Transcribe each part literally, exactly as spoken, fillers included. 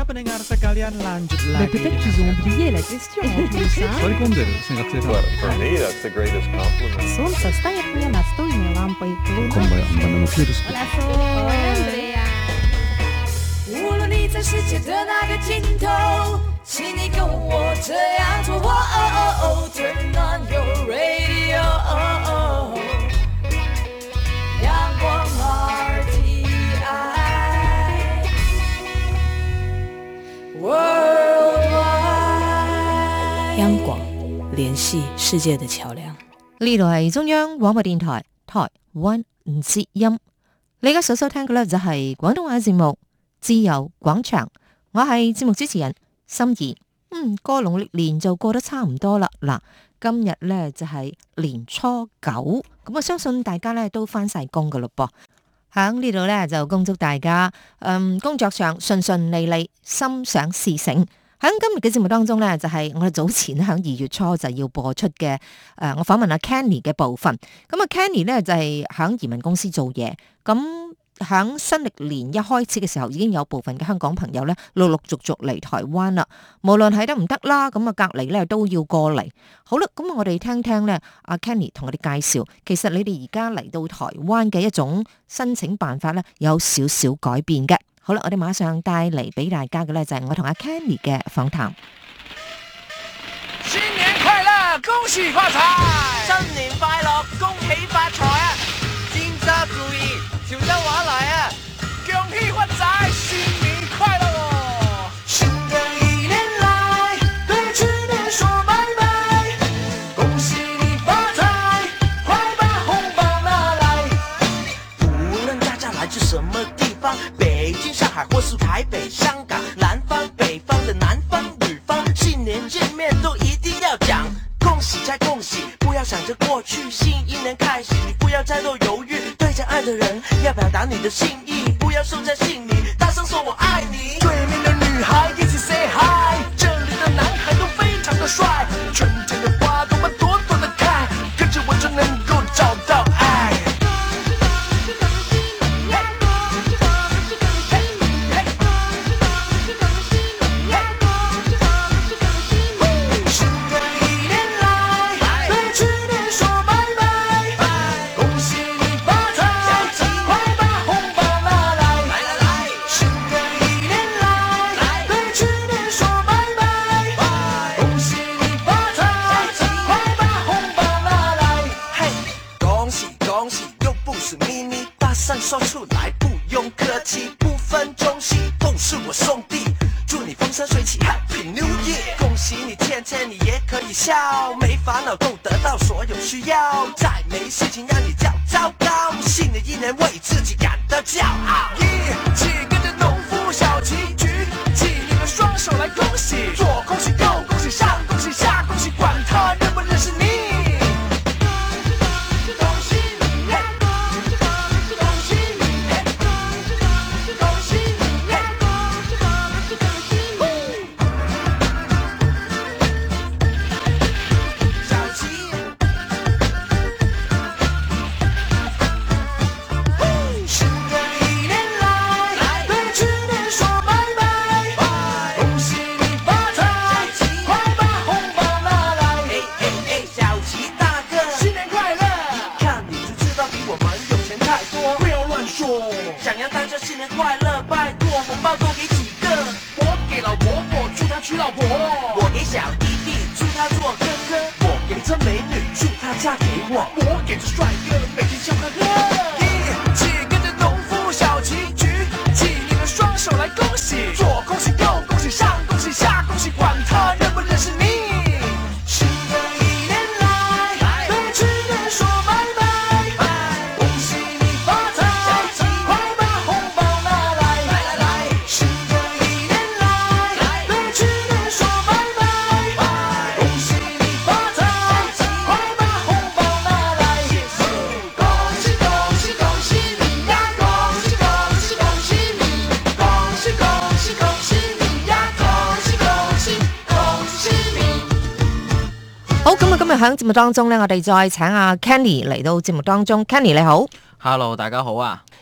pendengar sekalian, lanjut Mais lagi. peut-être qu'ils ont oublié la question en plus, hein? Soikonderu, 생각 제대로. Well, for me, that's the greatest compliment. Солнце стоит мне настольной лампой. Луна Konbaja, Ambano Kirusku. Hola, soy Andrea. 无论你在世界的哪个尽头，请你跟我这样做。哦哦哦 Turn on your radio， 阳光 R T I Worldwide， 央廣聯繫世界的橋梁。 呢度係中央廣播電台台灣之音，你而家所收聽嘅呢就係廣東話節目自由廣場，我係節目主持人心儀。嗯，個農曆年就過得差唔多啦。嗱，今日呢就係年初九，咁我相信大家呢都返晒工噶嘞噃。喺呢度呢就恭祝大家，嗯，工作上順順利利，心想事成。喺今日嘅節目當中呢，就係、是、我哋早前喺二月初就要播出嘅，誒、呃，我訪問阿 Kenny 嘅部分。咁啊，Kenny 呢就係、是、喺移民公司做嘢。咁喺新歷年一開始嘅時候，已經有部分嘅香港朋友呢陸陸續續嚟台灣啦。無論係得唔得啦，咁啊隔離呢都要過嚟。好啦，咁我哋聽聽呢阿 Kenny 同我哋介紹，其實你哋而家嚟到台灣嘅一種申請辦法呢，有少少改變嘅。好啦，我哋馬上帶嚟俾大家嘅咧，就係我同阿 Kenny 嘅訪談。 新年快樂，恭喜發財！新年快樂，恭喜發財啊！今朝注意，小心話來啊！恭喜發財，新年快樂哦！ 新的一年來，對去年說拜拜，恭喜你發財，快把紅包拿來。 無論大家來自什麼地方，北京、上海或是台北、香港，南方、北方的南方、女方，新年見面都一定要講恭喜再恭喜，不要想着過去，新一年開始，你不要再多猶豫，對着愛的人要表達你的心意，不要收在心裡，大聲說我愛你。對面的女孩一起 say hi， 這裡的男孩都非常的帥，春天的花朵們朵朵的開，跟着我就能夠找到愛。說出來不用客氣，不分中西都是我兄弟，祝你風生水起 Happy New Year， 恭喜你天天你也可以笑，沒煩惱都得到所有需要，再沒事情讓你較糟糕，新的一年為自己感到驕傲，一起跟着農夫小旗舉起你們雙手來恭喜，左恭喜右恭喜上恭喜下恭喜，管他認不認識你。想要大家新年快樂，拜託紅包多給幾個，我給老婆婆祝她娶老婆，我給小弟弟祝他做哥哥，我給這美女祝她嫁給我，我給這帥哥每天笑呵呵，一起跟着農夫小旗舉起你們雙手來恭喜，左恭喜右恭喜上恭喜下恭喜，管他認不認識你。 今日喺節目當中咧，我哋再請阿 Kenny 嚟到節目當中。Kenny 你好 ，Hello， 大家好啊！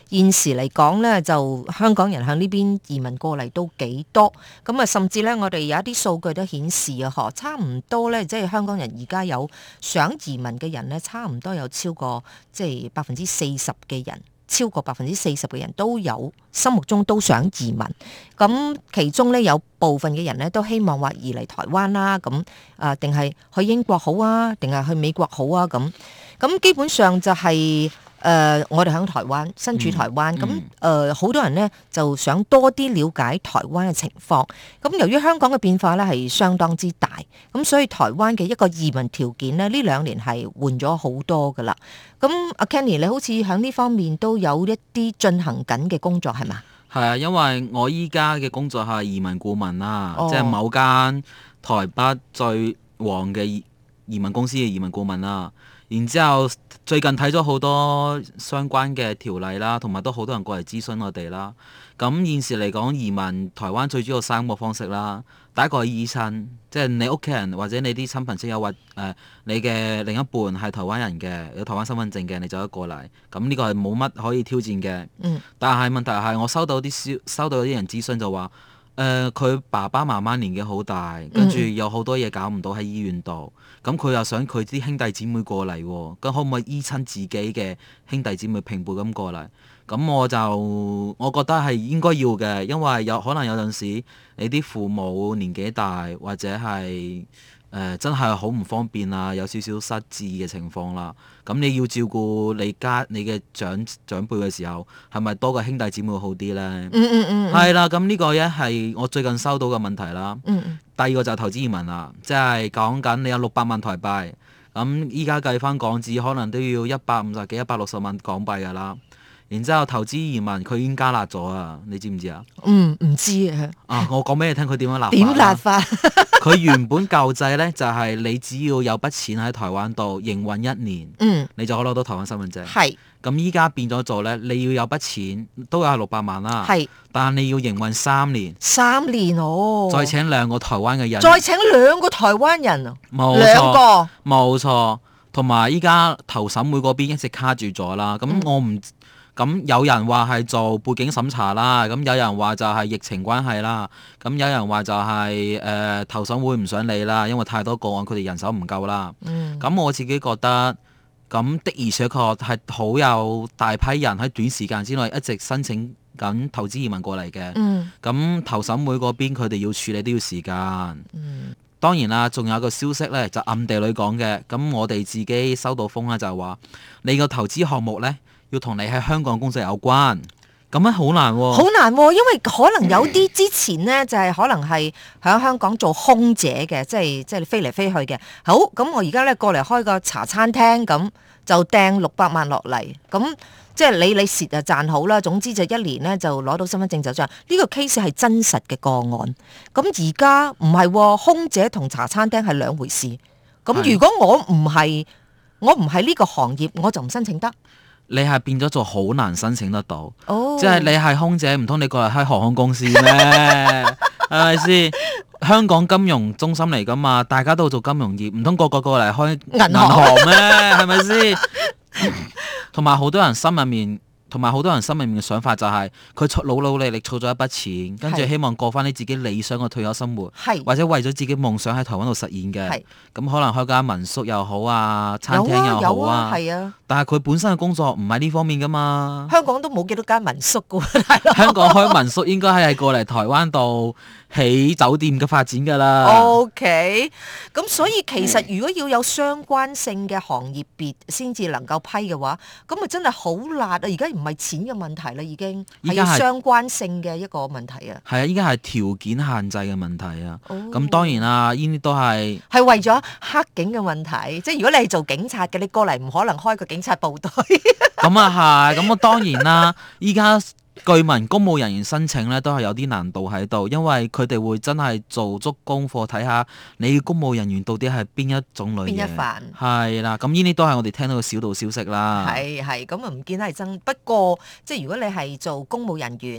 現時嚟講咧，就香港人喺呢邊移民過嚟都幾多，咁啊，甚至咧，我哋有一啲數據都顯示啊，嗬，差唔多咧，即係香港人而家有想移民嘅人咧，差唔多有超過即係百分之四十嘅人。超過百分之四十嘅人都有心目中都想移民，咁其中咧有部分嘅人咧都希望話移嚟台灣啦，咁啊定係去英國好啊，定係去美國好啊，咁咁基本上就係、是。誒、呃，我哋喺台灣，身處台灣，咁誒好多人呢就想多啲了解台灣嘅情況。咁由於香港嘅變化咧係相當之大，咁所以台灣嘅一個移民條件呢，呢兩年係換咗好多噶啦。咁阿 Kenny，你好似喺呢方面都有一啲進行緊嘅工作係嘛？ 係啊，因為我依家嘅工作係移民顧問啦， 哦、 即係某間台北最旺嘅移民公司嘅移民顧問啦。然之後最近睇咗好多相關嘅條例啦，同埋都好多人過嚟諮詢我哋啦。咁現時嚟講，移民台灣最主要三個方式啦。第一個係醫生，即係你屋企人或者你啲親朋戚友或誒、呃、你嘅另一半係台灣人嘅，有台灣身份證嘅，你就可以過嚟。咁呢個係冇乜可以挑戰嘅。嗯。但係問題係我收到啲消收到啲人諮詢就話，誒佢爸爸媽媽年紀好大，跟住有好多嘢搞唔到喺醫院度。咁佢又想佢啲兄弟姊妹過嚟，咁可唔可以醫親自己嘅兄弟姊妹平輩咁過嚟？咁我就我覺得係應該要嘅，因為有可能有陣時你啲父母年紀大，或者係誒、呃、真係好唔方便啊，有少少失智嘅情況啦。咁你要照顧你家你嘅長長輩嘅時候，係咪多個兄弟姊妹好啲呢？嗯嗯嗯，係啦，咁呢個咧係我最近收到嘅問題啦。嗯嗯。第二個就係投資移民啦，即係講緊你有六百萬台幣，咁依家計翻港紙可能都要一百五十幾、一百六十萬港幣噶啦。然之後投資移民佢已經加辣咗啊，你知唔知啊？嗯，唔知啊。啊，我講俾你聽，佢點樣辣法？點辣法？佢原本舊制咧就係、是、你只要有筆錢喺台灣度營運一年，嗯，你就可以攞到台灣身份證。係。咁依家變咗做咧，你要有筆錢都有六百萬啦。係。但係你要營運三年。三年哦。再請兩個台灣嘅人。再請兩個台灣人啊？冇錯。兩個。冇錯。同埋依家投審會嗰邊一直卡住咗啦。咁我唔。咁有人話係做背景審查啦，咁有人話就係疫情關係啦，咁有人話就係、是、誒、呃、投審會唔想理啦，因為太多個案佢哋人手唔夠啦。咁、嗯、我自己覺得，咁的而且確係好有大批人喺短時間之內一直申請緊投資移民過嚟嘅。咁、嗯、投審會嗰邊佢哋要處理都要時間。嗯、當然啦，仲有個消息呢，就暗地裏講嘅，咁我哋自己收到風啦，就係話你個投資項目呢，要同你喺香港工作有關，咁樣好難喎、哦。好難喎、哦，因為可能有啲之前呢，就係、是、可能係喺香港做空姐嘅，即係即係飛嚟飛去嘅。好，咁我而家咧過嚟開個茶餐廳，咁就掟六百萬落嚟，咁即係你你蝕就賺好啦。總之就一年咧就攞到身份證就這樣。呢個 case 係真實嘅個案。咁而家唔係，空姐同茶餐廳係兩回事。咁如果我唔係我唔係呢個行業，我就唔申請得。你係變咗做好難申請得到，oh. 即係你係空姐，唔通你過嚟開航空公司咩？係咪先？香港金融中心嚟噶嘛，大家都做金融業，唔通個個過嚟開銀行咩？係咪先？同埋好多人心入面。同埋好多人心入面嘅想法就係佢努努力力儲咗一筆錢，跟住希望過翻你自己理想嘅退休生活，或者為咗自己夢想喺台灣度實現嘅。咁可能開間民宿又好啊，餐廳又好啊。係啊，但係佢本身嘅工作唔係呢方面噶嘛。香港都冇幾多間民宿噶喎。香港開民宿應該係過嚟台灣度起酒店嘅發展噶啦。OK，咁所以其實如果要有相關性嘅行業別先至能夠批嘅話，咁咪真係好辣啊！而家唔係錢嘅問題啦，已經係要相關性嘅一個問題啊。係啊，依家係條件限制嘅問題啊。咁、oh. 當然啦，呢啲都係係為咗黑警嘅問題。即係如果你係做警察嘅，你過嚟唔可能開個警察部隊。咁啊係，咁啊當然啦，依家。據聞公務人員申請咧都係有啲難度喺度，因為佢哋會真係做足功課睇下你公務人員到底係邊一種類嘅。邊一範？係啦，咁呢啲都係我哋聽到嘅小道消息啦。係係，咁啊唔見得係真。不過即係如果你係做公務人員，誒、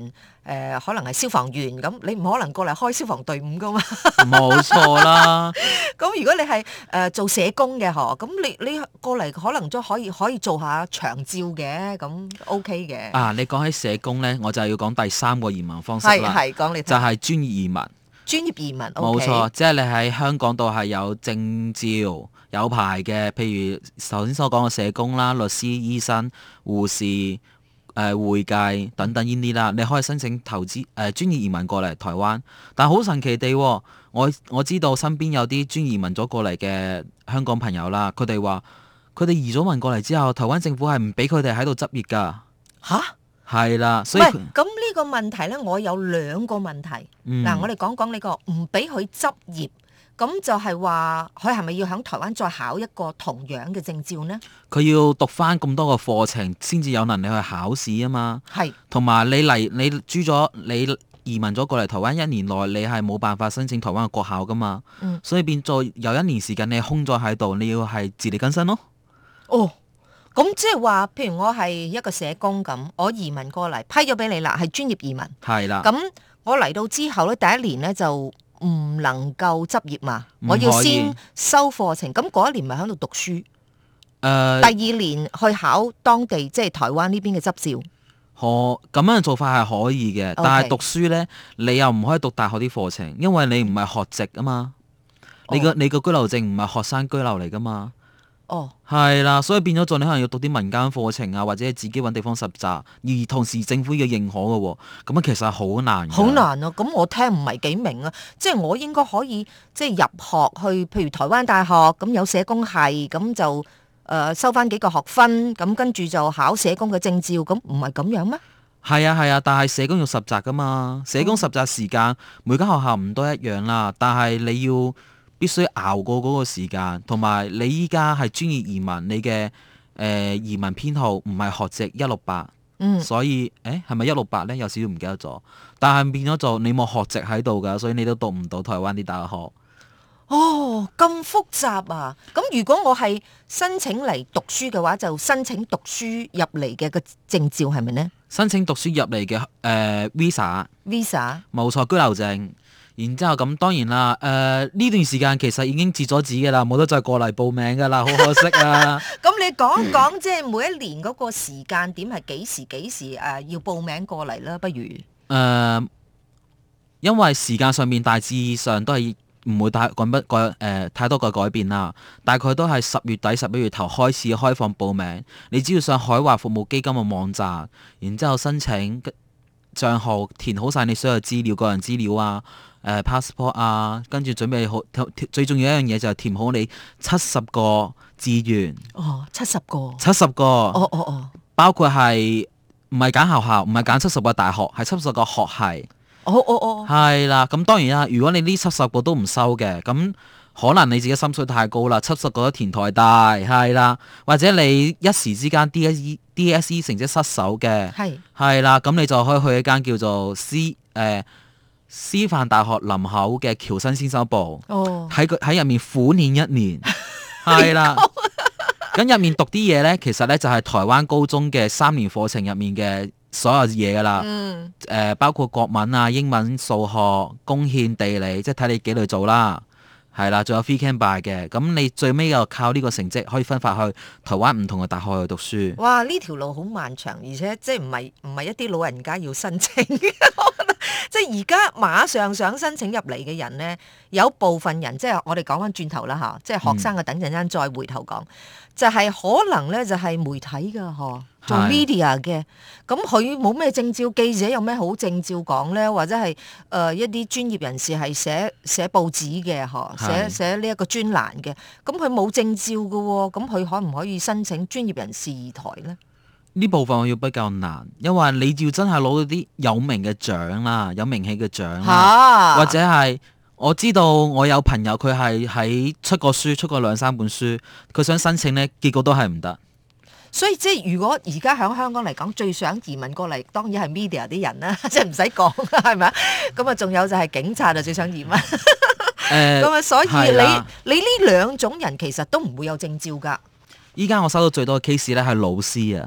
呃、可能係消防員咁，你唔可能過嚟開消防隊伍噶嘛。 冇錯啦。 咁如果你係誒、呃、做社工嘅嗬，咁你你過嚟可能都可以可以做下長照嘅，咁 OK 嘅。 啊，你講起社工咧，我就要講第三個移民方式啦， 係係講你就係專業移民。 專業移民，冇、 okay、錯，即係你喺香港度係有證照、有牌嘅，譬如頭先所講嘅社工啦、律師、醫生、護士、誒、呃、會計等等呢啲啦，你可以申請投資誒、呃、專業移民過嚟台灣。但係好神奇地，我我知道身邊有啲專業移民咗過嚟嘅香港朋友啦，佢哋話佢哋移咗民過嚟之後，台灣政府係唔俾佢哋喺度執業㗎。嚇？係啦，所以喂，咁呢個問題咧，我有兩個問題。嗱、嗯，我哋講講呢個唔俾佢執業，咁就係話佢係咪要喺台灣再考一個同樣嘅證照呢？ 佢要讀翻咁多個課程，先至有能力去考試啊嘛。係，同埋你嚟你住咗你移民咗過嚟台灣一年內，你係冇辦法申請台灣嘅國考噶嘛。嗯，所以變咗有一年時間你空咗喺度，你要係自力更生咯。 哦。咁即係話，譬如我係一個社工咁，我移民過嚟批咗俾你啦，係專業移民。係啦。咁我嚟到之後咧，第一年咧就唔能夠執業嘛，我要先修課程。咁嗰一年咪喺度讀書。誒、呃。第二年去考當地即係台灣呢邊嘅執照。 可咁樣嘅做法係可以嘅， okay。但係讀書咧，你又唔可以讀大學啲課程，因為你唔係學籍啊嘛。哦、你個你個居留證唔係學生居留嚟噶嘛。哦，係啦，所以變咗做你可能要讀啲民間課程啊，或者自己揾地方實習，而同時政府要認可嘅喎，咁樣其實係好難。好難啊！咁我聽唔係幾明啊，即係我應該可以即係入學去，譬如台灣大學咁有社工系，咁就誒、呃、收翻幾個學分，咁跟住就考社工嘅證照，咁唔係咁樣咩？係啊係啊，但係社工要實習噶嘛，社工實習時間、嗯、每間學校唔都一樣啦，但係你要必須熬過嗰個時間，同埋你依家係專業移民，你嘅誒、呃、移民編號唔係學籍一六八，所以誒係咪一六八咧？有少少唔記得咗，但係變咗做你冇學籍喺度㗎，所以你都讀唔到台灣啲大學。哦，咁複雜啊！咁如果我係申請嚟讀書嘅話，就申請讀書入嚟嘅個證照係咪呢？申請讀書入嚟嘅誒 visa，visa 冇錯，居留證。然之後咁當然啦，誒、呃、呢段時間其實已經截咗止㗎啦，冇得再過嚟報名㗎啦，好可惜啊！咁你講講即係每一年嗰個時間點係幾時幾時誒、呃、要報名過嚟啦？不如誒、呃，因為時間上面大致上都係唔會太改不改誒太多嘅改變啦，大概都係十月底十一月頭開始開放報名，你只要上海華服務基金嘅網站，然之後申請帳號，填好晒你所有資料、個人資料啊。誒、呃、passport 啊，跟住準備好，最重要一樣嘢就係填好你七十個志願。哦，七十個。七十個。哦哦哦。包括係唔係揀學校，唔係揀七十個大學，係七十個學系。哦哦哦。係啦，咁當然啦，如果你呢七十個都唔收嘅，咁可能你自己心水太高啦，七十個都填台大，係啦，或者你一時之間 D S E D S E 成績失手嘅，係係啦，咁你就可以去一間叫做 C 誒、呃。師範大學林口嘅僑生先修部，喺佢喺入面苦練一年，係啦。咁入面讀啲嘢咧，其實咧就係台灣高中嘅三年課程入面嘅所有嘢噶啦。嗯。誒、呃，包括國文啊、英文、數學、公憲、地理，即係睇你幾類做啦。係啦，仲有 free can buy 嘅。咁你最尾又靠呢個成績可以分發去台灣唔同嘅大學去讀書。哇！呢條路好漫長，而且即係唔係唔係一啲老人家要申請嘅。即係而家馬上想申請入嚟嘅人呢，有部分人即係我哋講翻轉頭啦嚇，即係學生嘅等陣間再回頭講，嗯、就係可能呢，就係媒體嘅嗬，做 media 嘅，咁佢冇咩證照，記者有咩好證照講呢？或者係誒、呃、一啲專業人士係寫寫報紙嘅嗬，寫寫呢一個專欄嘅，咁佢冇證照嘅喎，咁佢可唔可以申請專業人士台呢？呢部分我要比較難，因為你要真係攞到啲有名嘅獎啦，有名氣嘅獎啦，啊、或者係我知道我有朋友佢係喺出過書，出過兩三本書，佢想申請呢，結果都係唔得。所以即係如果而家喺香港嚟講，最想移民過嚟，當然係 media 啲人啦，即係唔使講，係咪啊？咁啊，仲有就係警察就最想移民。誒，咁啊，所以你你呢兩種人其實都唔會有證照㗎。依家我收到最多嘅 case 咧係老師啊。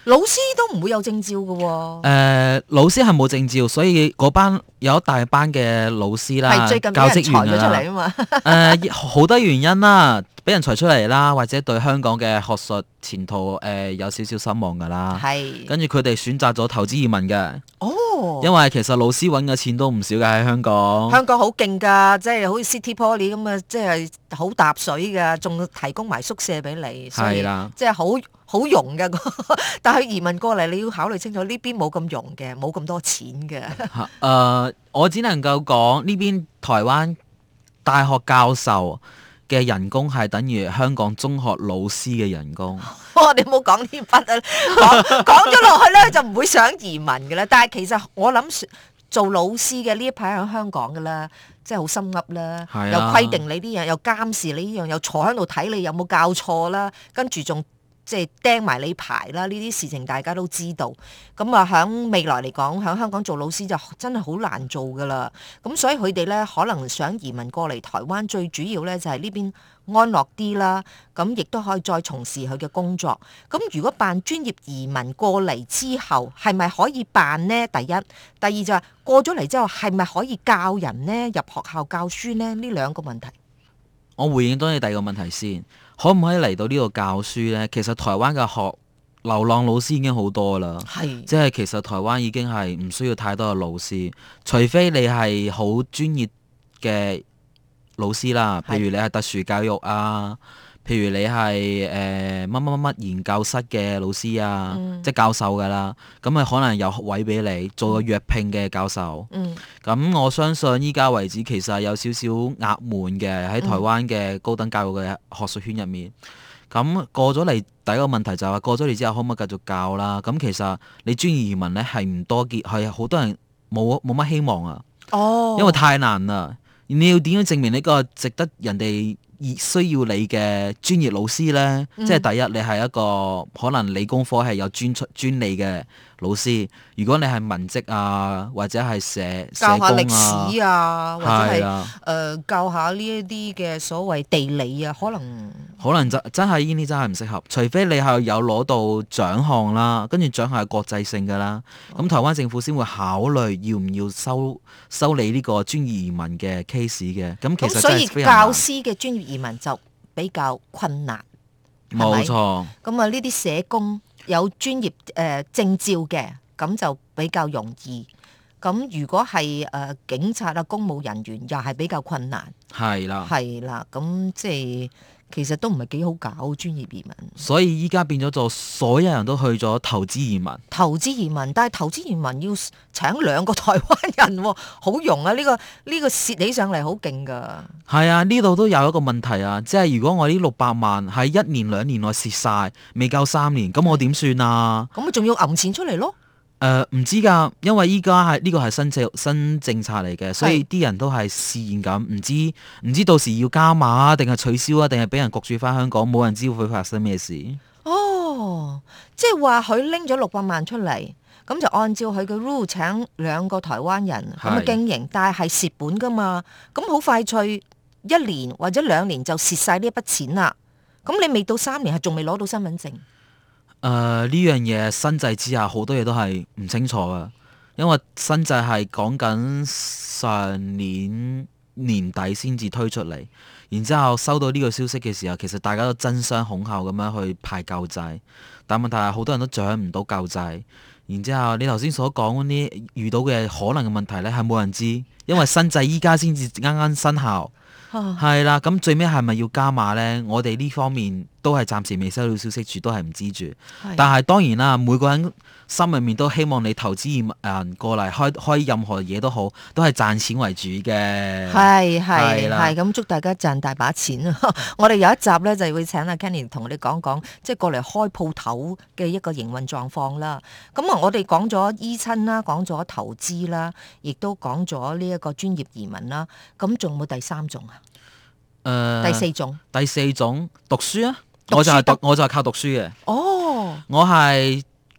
老師都唔會有證照嘅喎、哦。 誒、呃，老師係冇證照，所以嗰班有一大班嘅老師啦， 係最近俾人裁咗出嚟啊嘛。誒、 呃，好多原因啦，俾人裁出嚟啦，或者對香港嘅學術前途誒、呃、有少少失望㗎啦。 係。跟住佢哋選擇咗投資移民嘅。 哦。 因為其實老師揾嘅錢都唔少㗎喺香港。 香港好勁㗎，即係好似 City Poly 咁啊，即係好搭水㗎，仲提供埋宿舍俾你，所以即係好好用㗎。但係移民過嚟，你要考慮清楚，呢邊冇咁用嘅，冇咁多錢嘅。誒、 呃，我只能夠講呢邊台灣大學教授嘅人工係等於香港中學老師嘅人工。 哦、你唔好講呢筆啊，講講咗落去咧就唔會想移民嘅啦。但係其實我諗做老師嘅呢一排喺香港嘅啦，即係好心噏啦， 啊、 又規定你呢樣，又監視你呢樣，又坐喺度睇你有冇教錯啦，跟住仲即係釘埋你牌啦。呢啲事情大家都知道。咁啊，喺未來嚟講，喺香港做老師就真係好難做噶啦。咁所以佢哋咧可能想移民過嚟台灣，最主要咧就係呢邊安樂啲啦。咁亦都可以再從事佢嘅工作。咁如果辦專業移民過嚟之後，係咪可以辦呢？第一，第二就係過咗嚟之後，係咪可以教人呢？入學校教書呢？呢兩個問題。 我回應到你第二個問題先，可唔可以嚟到呢度教書呢？其實台灣嘅學流浪老師已經好多啦， 係即係其實台灣已經係唔需要太多嘅老師，除非你係好專業嘅老師啦，譬如你係特殊教育啊，譬如你係誒乜乜乜乜研究室嘅老師啊，嗯、即係教授㗎啦，咁啊可能有位俾你做個約聘嘅教授。嗯，咁我相信依家為止其實有少少壓悶嘅喺台灣嘅高等教育嘅學術圈入面。咁過咗嚟，第一個問題就係話過咗嚟之後可唔可以繼續教啦？咁其實你專業移民咧係唔多見，係好多人冇冇乜希望啊。哦，因為太難啦。你要點樣證明呢個值得人哋需要你嘅專業老師呢？嗯、即係第一，你係一個可能理工科係有專出專利嘅老師。如果你係文職啊，或者係社社工啊，教下歷史啊， 或者係誒、啊呃、教下呢一啲嘅所謂地理啊，可能可能真真係呢啲真係唔適合。除非你係有攞到獎項啦，跟住獎項係國際性㗎啦，咁、哦、台灣政府先會考慮要唔要收收你呢個專業移民嘅 case 嘅。咁其實真係非常難。 所以教師嘅專業移民就比較困難， 冇錯。 咁啊，呢啲社工有專業誒、呃、證照嘅，咁就比較容易。咁如果係誒、呃、警察啊、公務人員，又係比較困難。 係啦， 係啦，咁即係其實都唔係幾好搞專業移民。 所以依家變咗做所有人都去咗投資移民。 投資移民，但係投資移民要請兩個台灣人、哦，好用啊！呢、呢個呢、呢個蝕起上嚟好勁噶。 係啊，呢度都有一個問題啊，即係如果我呢六百萬喺一年兩年內蝕晒，未夠三年，咁我點算啊？ 咁咪仲要揞錢出嚟咯？ 誒、呃，唔知㗎，因為依家係呢個係新政新政策嚟嘅，所以啲人都係試驗緊，唔知唔知到時要加碼啊，定係取消啊，定係俾人焗住翻香港，冇人知會發生咩事。 哦，即係話佢拎咗六百萬出嚟，咁就按照佢嘅 rule 請兩個台灣人咁啊經營，但係係蝕本㗎嘛，咁好快脆一年或者兩年就蝕晒呢一筆錢啦。咁你未到三年係仲未攞到身份證。 誒呢樣嘢新制之下好多嘢都係唔清楚㗎，因為新制係講緊上年年底先至推出嚟，然之後收到呢個消息嘅時候，其實大家都爭相恐後咁樣去排救濟，但問題係好多人都掌唔到救濟，然之後你頭先所講嗰啲遇到嘅可能嘅問題呢，係冇人知，因為新制依家先至啱啱生效。係啦，咁最尾係咪要加碼呢？我哋呢方面都係暫時未收到消息住，都係唔知住。但係當然啦，每個人心入面都希望你投資移民過嚟開開任何嘢都好，都係賺錢為主嘅。 係係係，咁祝大家賺大把錢啊！我哋有一集呢，就會請阿 Kenny 同我哋講講，即係過嚟開鋪頭嘅一個營運狀況啦。咁啊，我哋講咗醫親啦，講咗投資啦，亦都講咗呢一個專業移民啦。咁仲有冇第三種啊？誒、呃，第四種， 第四種讀書啊！讀書我就係讀，讀，我就係靠讀書嘅。 哦， 我係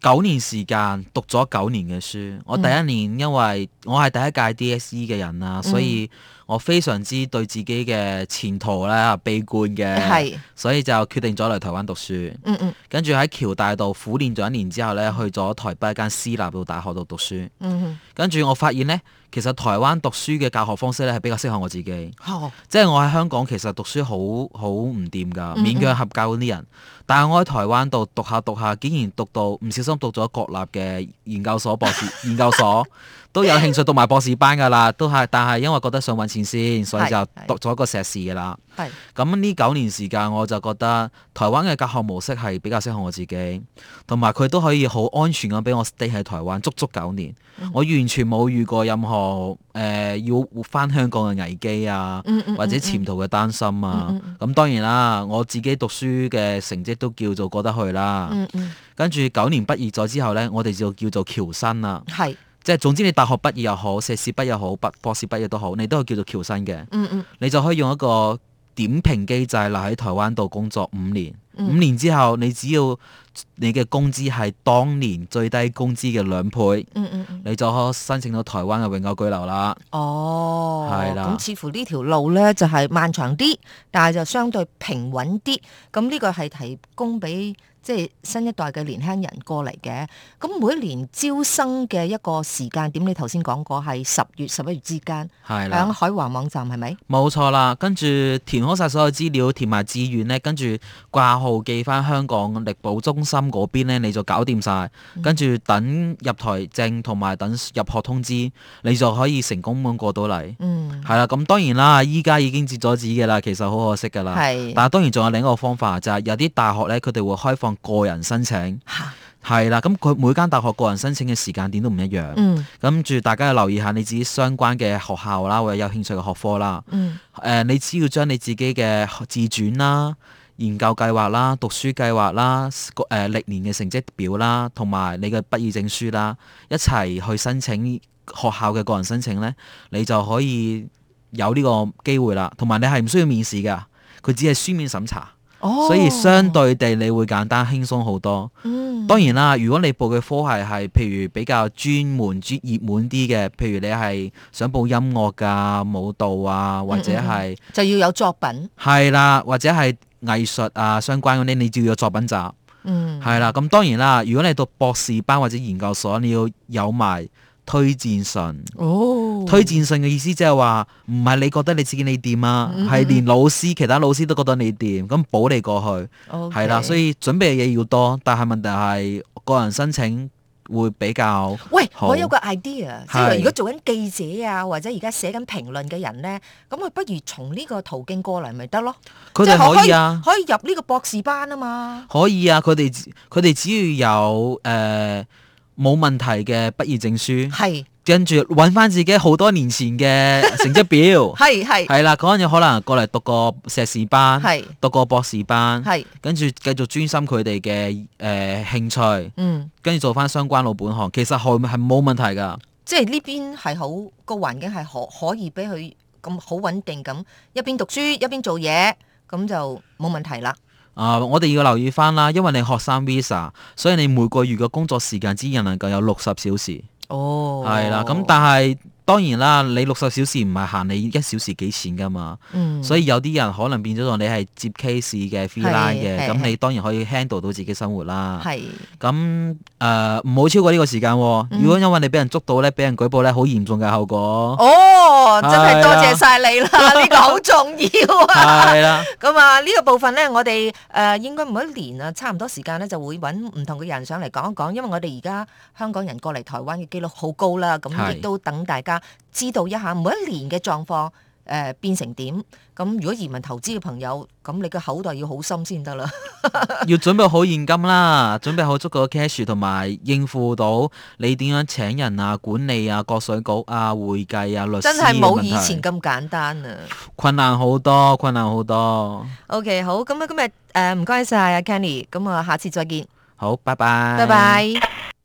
九年時間讀咗九年嘅書，我第一年因為我係第一屆 D S E 嘅人啊，嗯、所以我非常之對自己嘅前途咧悲觀嘅， 係， 所以就決定咗嚟台灣讀書。嗯嗯，跟住喺僑大度苦練咗一年之後咧，去咗台北一間私立到大學度讀書。嗯，跟住我發現咧，其實台灣讀書嘅教學方式咧係比較適合我自己。哦、即係我喺香港其實讀書好好唔掂㗎，勉強合格嗰啲人。嗯嗯，但係我喺台灣度讀下讀下，竟然讀到唔小心讀咗國立嘅研究所博士研究所，都有興趣讀埋博士班㗎啦，都係，但係因為覺得想揾錢先，所以就讀咗個碩士㗎啦。係。咁呢九年時間，我就覺得台灣嘅教學模式係比較適合我自己，同埋佢都可以好安全咁俾我 stay 喺台灣足足九年。嗯、我完全冇遇過任何誒、呃、要翻香港嘅危機啊，嗯嗯、或者潛逃嘅擔心啊。咁、嗯嗯嗯、當然啦，我自己讀書嘅成績都叫做過得去啦。嗯嗯、跟住九年畢業咗之後呢，我哋就叫做僑生啦。係。即係總之，你大學畢業又好，碩士畢業又好，博博士畢業都好，你都係叫做僑生嘅。嗯嗯，你就可以用一個點評機制留喺台灣度工作五年。嗯、五年之後，你只要你嘅工資係當年最低工資嘅兩倍，嗯嗯嗯，你就可以申請到台灣嘅永久居留啦。哦，係啦。咁似乎呢條路呢就係漫長啲，但係就相對平穩啲。咁呢個係提供俾即係新一代嘅年輕人過嚟嘅。咁每一年招生嘅一個時間點，你頭先講過係十月十一月之間，係啦，喺海華網站係咪？冇錯啦，跟住填好晒所有資料，填埋志願呢，跟住掛號寄翻香港力保中心嗰邊呢，你就搞掂晒。跟住等入台證同埋等入學通知，你就可以成功咁過到嚟。嗯，係啦，咁當然啦，依家已經截咗止嘅啦，其實好可惜噶啦。係，但係當然仲有另一個方法，就係有啲大學呢，佢哋會開放個人申請。係啦，咁佢每間大學個人申請嘅時間點都唔一樣。嗯，跟住大家要留意下你自己相關嘅學校啦，或者有興趣嘅學科啦。嗯，誒、呃，你只要將你自己嘅自傳啦、研究計劃啦、讀書計劃啦、誒、呃、歷年嘅成績表啦，同埋你嘅畢業證書啦，一齊去申請學校嘅個人申請呢，你就可以有呢個機會啦。同埋你係唔需要面試㗎，佢只係書面審查。哦、所以相對地你會簡單輕鬆好多。嗯，當然啦，如果你報嘅科系係譬如比較專門、專熱門啲嘅，譬如你係想報音樂㗎、舞蹈啊，或者係、嗯嗯、就要有作品。係啦，或者係藝術啊相關嗰啲，你就要有作品集。嗯，係啦。咁當然啦，如果你讀博士班或者研究所，你要有埋推薦信。哦，推薦信嘅意思即係話唔係你覺得你自己你掂啊，係、嗯、連老師其他老師都覺得你掂，咁保你過去係啦。所以準備嘅嘢要多，但係問題係個人申請會比較喂，我有個 idea， 即係如果做緊記者啊，或者而家寫緊評論嘅人咧，咁佢不如從呢個途徑過嚟咪得咯。佢哋可以啊，可以入呢個博士班啊嘛。可以啊，佢哋佢哋只要有誒。呃冇問題嘅畢業證書，係跟住揾翻自己好多年前嘅成績表，係係係啦，嗰陣可能過嚟讀個碩士班，係讀個博士班，係跟住繼續專心佢哋嘅誒興趣，嗯，跟住做翻相關老本行，其實係係冇問題噶，即係呢邊係好個環境係可可以俾佢咁好穩定咁一邊讀書一邊做嘢，咁就冇問題啦。啊、呃！我哋要留意翻啦，因為你學生 visa， 所以你每個月嘅工作時間只能夠有六十小時。哦，係啦，咁但係當然啦，你六十小時唔係限你一小時幾錢噶嘛。嗯，所以有啲人可能變咗做你係接 case 嘅 freelance 嘅，咁你當然可以 handle 到自己生活啦。係，咁誒唔好超過呢個時間、啊。嗯、如果因為你俾人捉到咧，俾人舉報咧，好嚴重嘅後果。哦，真係多謝晒你啦，呢個好重要啊。係啦，咁啊呢個部分咧，我哋誒、呃、應該每一年啊，差唔多時間咧就會揾唔同嘅人上嚟講一講，因為我哋而家香港人過嚟台灣嘅機率好高啦，咁亦都等大家知道一下每一年嘅狀況。誒、呃、變成點？咁如果移民投資嘅朋友，咁你嘅口袋要好深先得啦。要準備好現金啦，準備好足夠嘅 cash， 同埋應付到你點樣請人啊、管理啊、國稅局啊、會計啊、律師。真係冇以前咁簡單啊！困難好多，困難好多。OK， 好，咁啊，今日誒唔該晒阿 Kenny，咁啊，下次再見。好，拜拜。拜拜。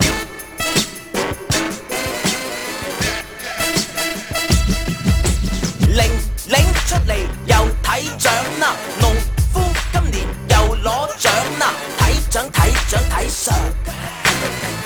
出嚟又睇獎啦，農夫今年又攞獎啦，睇獎睇獎睇相。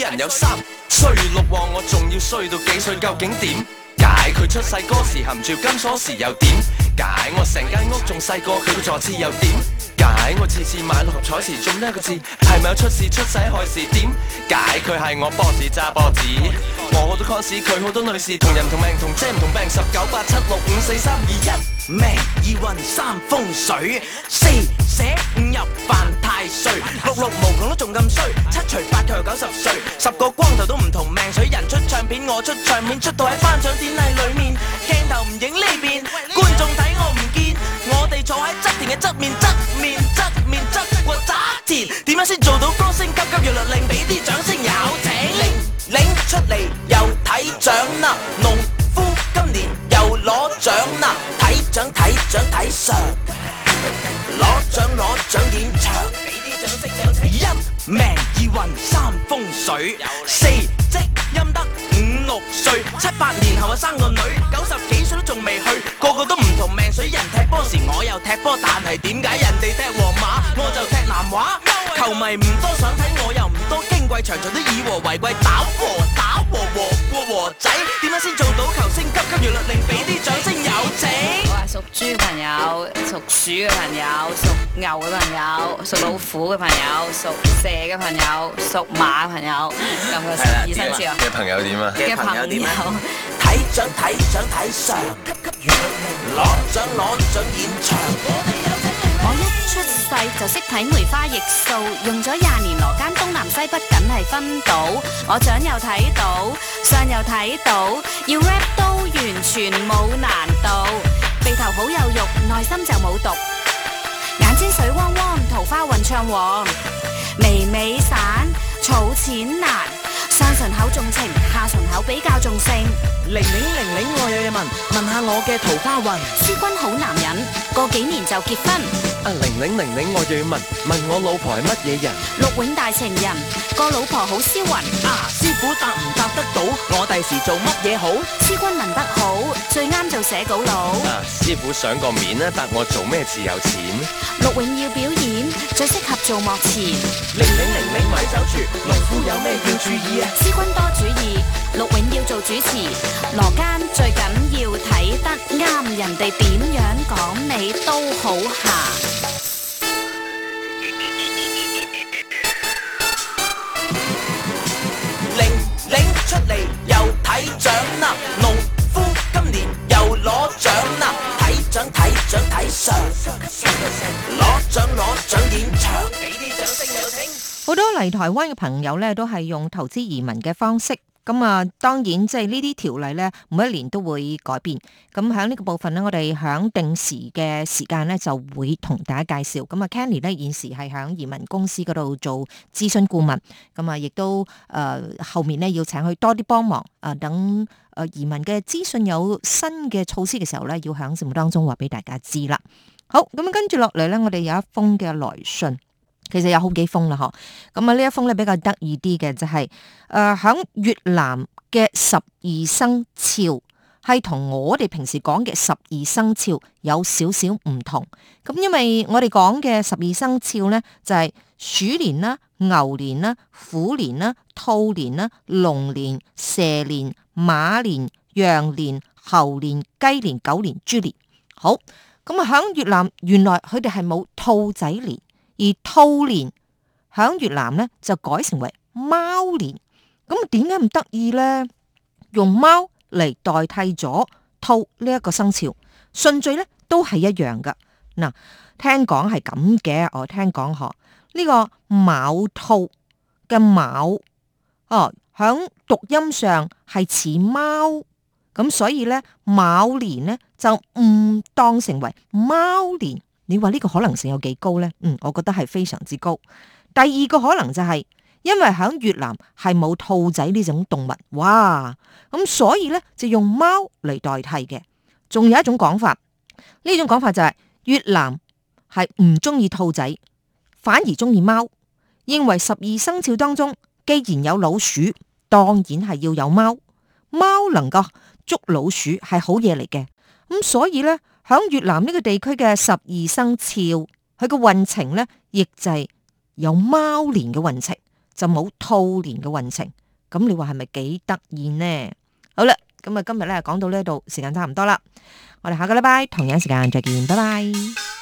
人有三衰六旺，我仲要衰到幾歲？究竟點解佢出世嗰時含住金鎖匙又點解？我成間屋仲細過佢個座次又點解？我次次買六合彩時中呢一個字，係咪有出事出世害事？點解佢係我 boss 揸波子？我好多 cons， 佢好多女士，同人同命同遮唔同病，十九八七六五四三二一，命二運三風水，四捨五入犯太歲，六六無窮都仲咁衰，七除八佢又九十歲，十個光頭都唔同命水，人出唱片我出唱片，出到喺頒獎典禮裏面，鏡頭唔影呢邊，觀眾睇我唔見，我哋坐喺側田嘅側面，側面側面側過側田，點樣先做到歌星急急要律令，俾啲掌聲有請，領領出嚟又睇獎啦，農夫今年又攞獎啦，睇獎睇獎睇相，攞獎攞獎演唱，俾啲掌聲有請，一命二運三風水，四積陰德五六歲，七八年後啊生個女，九十幾歲都仲未去，個個都唔同命水，人踢波時我又踢波，但係點解人哋踢皇馬我就踢南華？球迷唔多想睇，我又唔多矜貴，場場都以和為貴，打和打和和過和仔，點樣先做到球星急急要律令，俾啲掌聲有請。 我係屬豬嘅朋友，屬鼠嘅朋友，屬牛嘅朋友，屬老虎嘅朋友，屬蛇嘅朋友，屬馬嘅朋友，咁個十二生肖嘅朋友點啊？ 嘅朋友點啊？ 睇獎睇獎睇相，攞獎攞獎演唱。 我一出世就識睇梅花易數，用咗廿年羅間東南西北梗係分到，我獎又睇到，相又睇到，要 rap 都完全冇難度，鼻頭好有肉，內心就冇毒，眼睛水汪汪，桃花運暢旺，眉尾散，儲錢難，上唇口重情，下唇口比較重性。 玲玲玲玲，我有嘢問，問下我嘅桃花運。 師君好男人，過幾年就結婚。 啊玲玲玲玲，我又要問，問我老婆係乜嘢人？ 陸永大情人，個老婆好銷魂。 啊師傅答唔答得到？我第時做乜嘢好？ 師君問得好，最啱做寫稿佬。 啊師傅上個面咧，答我做咩字有錢？ 陸永要表演，最適合做幕前。 玲玲玲玲咪走住，農夫有咩要注意啊？ 師君多主意，陸永要做主持。羅間最緊要睇得啱，人哋點樣講你都好行。 玲玲出嚟又睇獎啦，農夫今年又攞獎啦，睇獎睇獎睇相，攞獎攞獎演唱，俾啲掌聲有請。 好多嚟台灣嘅朋友咧，都係用投資移民嘅方式。咁啊，當然即係呢啲條例咧，每一年都會改變。咁喺呢個部分咧，我哋響定時嘅時間咧，就會同大家介紹。咁啊 Kenny 咧現時係響移民公司嗰度做諮詢顧問。咁啊，亦都誒、呃、後面咧要請佢多啲幫忙啊、呃，等誒移民嘅資訊有新嘅措施嘅時候咧，要響節目當中話俾大家知啦。好，咁啊跟住落嚟咧，我哋有一封嘅來信。其實有好幾封啦，嗬。咁啊，呢一封咧比較得意啲嘅就係、是，誒、呃，響越南嘅十二生肖係同我哋平時講嘅十二生肖有少少唔同。咁因為我哋講嘅十二生肖咧就係、是、鼠年啦、牛年啦、虎年啦、兔年啦、龍年、蛇年、馬年、羊年、猴年、雞年、狗年、豬年。好，咁啊響越南原來佢哋係冇兔仔年。而兔年響越南咧就改成為貓年，咁點解咁得意咧？用貓嚟代替咗兔呢一個生肖，順序咧都係一樣噶。嗱，聽講係咁嘅，我聽講嗬，呢個卯兔嘅卯哦，響讀音上係似貓，咁所以咧卯年咧就誤當成為貓年。你話呢個可能性有幾高呢？嗯，我覺得係非常之高。第二個可能就係、是、因為喺越南係冇兔仔呢種動物，哇！咁所以呢，就用貓嚟代替嘅。仲有一種講法，呢種講法就係、是、越南係唔中意兔仔，反而中意貓，認為十二生肖當中既然有老鼠，當然係要有貓，貓能夠捉老鼠係好嘢嚟嘅。咁所以呢。響越南呢個地區嘅十二生肖，佢個運程咧，亦就係有貓年嘅運程。 就冇兔年嘅運程。咁你話係咪幾得意呢？好啦，咁啊今日咧講到呢度，時間差唔多啦，我哋下個禮拜同樣時間再見，拜拜。